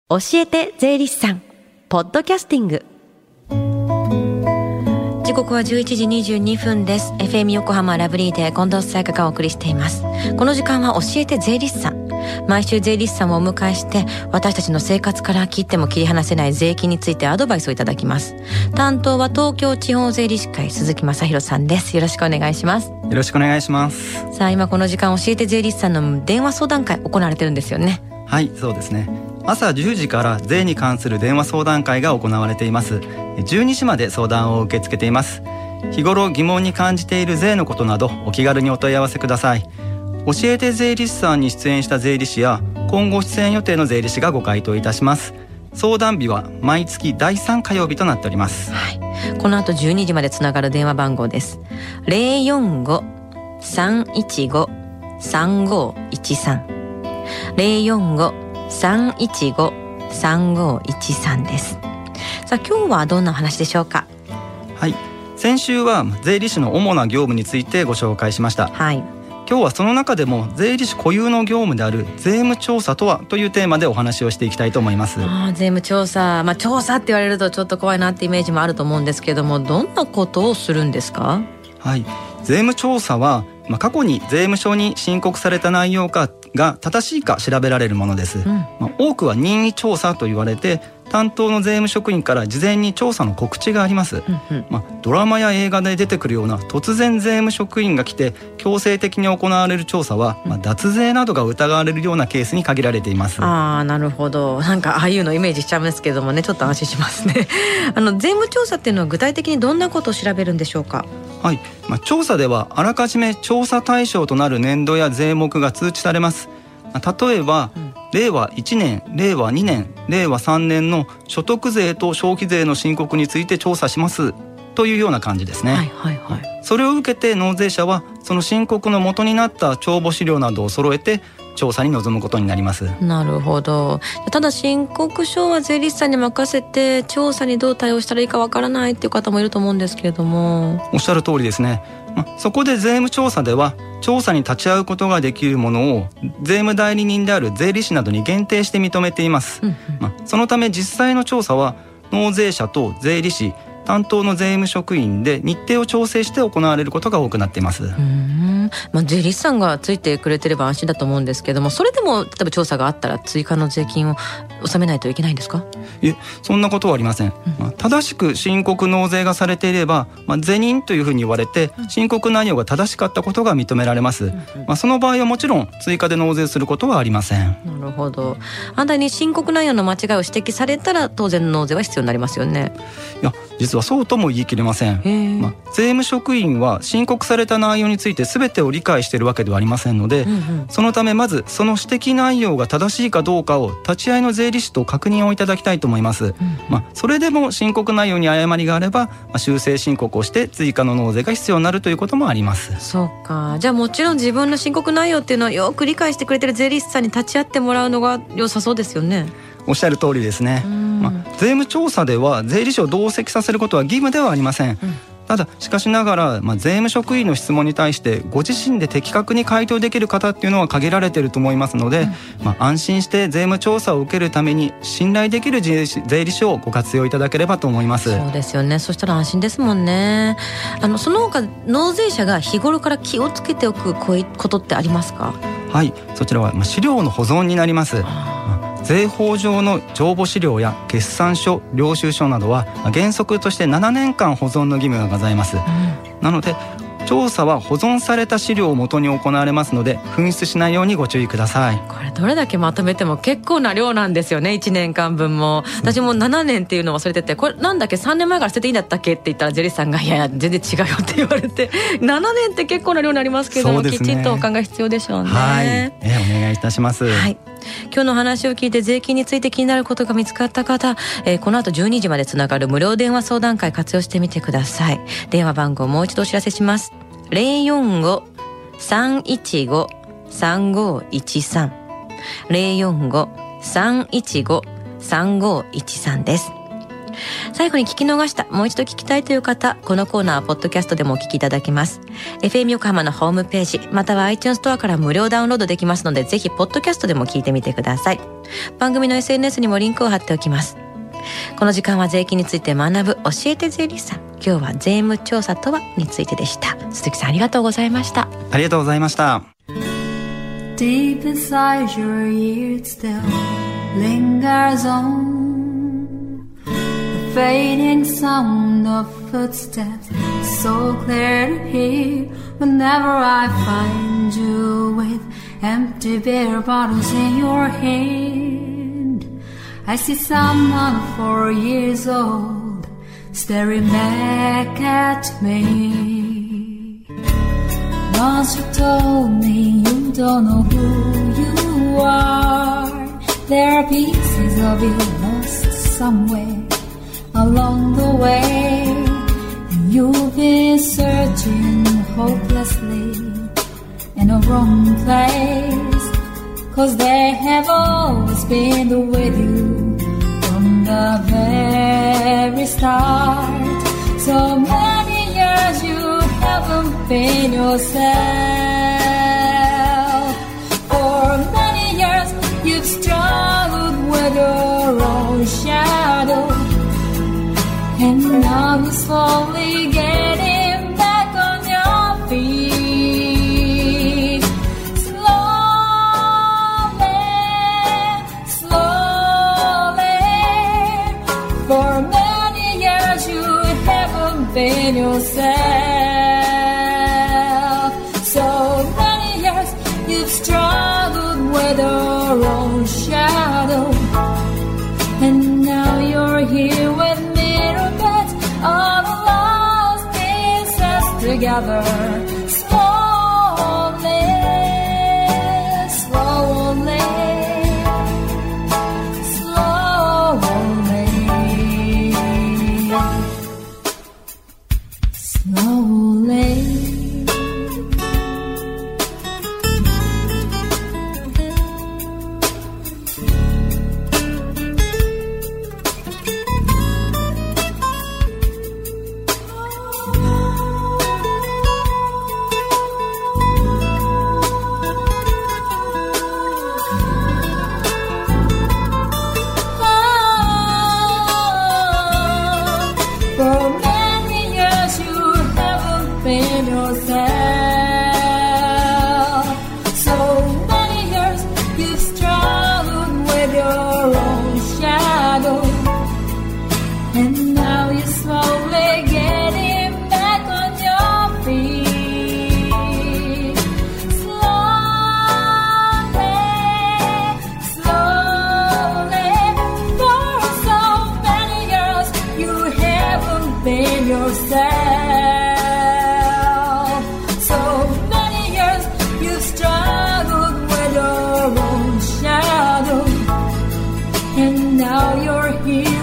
教えて税理士さんポッドキャスティング。時刻は11時22分です。 FM 横浜ラブリーで近藤沙耶香がお送りしています。この時間は教えて税理士さん。毎週税理士さんをお迎えして私たちの生活から切っても切り離せない税金についてアドバイスをいただきます。担当は東京地方税理士会鈴木正弘さんです。よろしくお願いします。 よろしくお願いします。 さあ、今この時間教えて税理士さんの電話相談会行われてるんですよね。 はい、そうですね。朝10時から税に関する電話相談会が行われています。12時まで相談を受け付けています。日頃疑問に感じている税のことなどお気軽にお問い合わせください。教えて税理士さんに出演した税理士や今後出演予定の税理士がご回答いたします。相談日は毎月第3火曜日となっております。 はい、この後12時までつながる電話番号です。 045-315-3513 045-315-3513 です。さあ、今日はどんな話でしょうか。 はい、先週は税理士の主な業務についてご紹介しました。 はい、 今日はその中でも税理士固有の業務である税務調査とはというテーマでお話をしていきたいと思います。 税務調査、調査って言われるとちょっと怖いなってイメージもあると思うんですけども、どんなことをするんですか。 はい、税務調査は、過去に税務署に申告された内容が正しいか調べられるものです。多くは任意調査と言われて、担当の税務職員から事前に調査の告知があります。ドラマや映画で出てくるような突然税務職員が来て強制的に行われる調査は、脱税などが疑われるようなケースに限られています。 なるほど。なんかああいうのイメージしちゃうんですけどもね、ちょっと安心しますね。税務調査っていうのは具体的にどんなことを調べるんでしょうか。 はい、調査ではあらかじめ調査対象となる年度や税目が通知されます。例えば、令和1年、令和2年、令和3年の所得税と消費税の申告について調査しますというような感じですね。それを受けて納税者はその申告の元になった帳簿資料などを揃えて調査に臨むことになります。 なるほど。ただ申告書は税理士さんに任せて調査にどう対応したらいいかわからないっていう方もいると思うんですけれども。 おっしゃる通りですね。そこで税務調査では調査に立ち会うことができるものを税務代理人である税理士などに限定して認めています。そのため実際の調査は納税者と税理士、担当の税務職員で日程を調整して行われることが多くなっています。 税理士さんがついてくれてれば安心だと思うんですけども、それでも例えば調査があったら追加の税金を納めないといけないんですか。 いえ、そんなことはありません。正しく申告納税がされていれば、是認というふうに言われて申告内容が正しかったことが認められます。その場合はもちろん追加で納税することはありません。 なるほど。反対に申告内容の間違いを指摘されたら当然納税は必要になりますよね。 いや、実はそうとも言い切れません。税務職員は申告された内容について全てを理解しているわけではありませんので、そのためまずその指摘内容が正しいかどうかを立ち会いの税理士と確認をいただきたいと思います。それでも申告内容に誤りがあれば、修正申告をして追加の納税が必要になるということもあります。 そうか。じゃあもちろん自分の申告内容っていうのをよく理解してくれてる税理士さんに立ち会ってもらうのが良さそうですよね。 おっしゃる通りですね。税務調査では税理士を同席させることは義務ではありません。ただしかしながら、税務職員の質問に対してご自身で的確に回答できる方っていうのは限られていると思いますので、安心して税務調査を受けるために信頼できる税理士をご活用いただければと思います。 そうですよね。そしたら安心ですもんね。その他納税者が日頃から気をつけておくこういうことってありますか。 はい、そちらは資料の保存になります。税法上の帳簿資料や決算書、領収書などは原則として7年間保存の義務がございます。なので調査は保存された資料をもとに行われますので紛失しないようにご注意ください。 これどれだけまとめても結構な量なんですよね。1年間分も。私も7年っていうのを忘れてて、これなんだっけ3年前から捨てていいんだったっけって言ったら税理士さんがいや全然違うよって言われて7年って結構な量になりますけども、きちんとお考え必要でしょうね。 お願いいたします。 今日の話を聞いて税金について気になることが見つかった方、この後12時までつながる無料電話相談会活用してみてください。電話番号もう一度お知らせします。 045-315-3513 045-315-3513 です。 最後に聞き逃した、もう一度聞きたいという方、このコーナーはポッドキャストでもお聞きいただけます。 FM 横浜のホームページまたは iTunes ストアから無料ダウンロードできますので、ぜひポッドキャストでも聞いてみてください。番組の SNS にもリンクを貼っておきます。この時間は税金について学ぶ教えて税理士さん、今日は税務調査とはについてでした。鈴木さん、ありがとうございました。 ありがとうございました。 Deep inside your ear it still lingers on the fading sound of footsteps, so clear to hear whenever I find you with empty beer bottles in your hand. I see someone 4 years old staring back at me. Once you told me you don't know who you are. There are pieces of you lost somewhere along the way, and you've been searching hopelessly in a wrong place, 'cause they have always been with you from the very start. So many years you haven't been yourself. For many years you've struggled with your own shadow, and now you're slowly getting back on your feet. Slowly, slowly. For many years you haven't been yourself. So many years you've struggled with your own shadow, and now you're here with mirror beds, all the lost pieces together. Slowly, slowly, slowly, slowly. Now you're here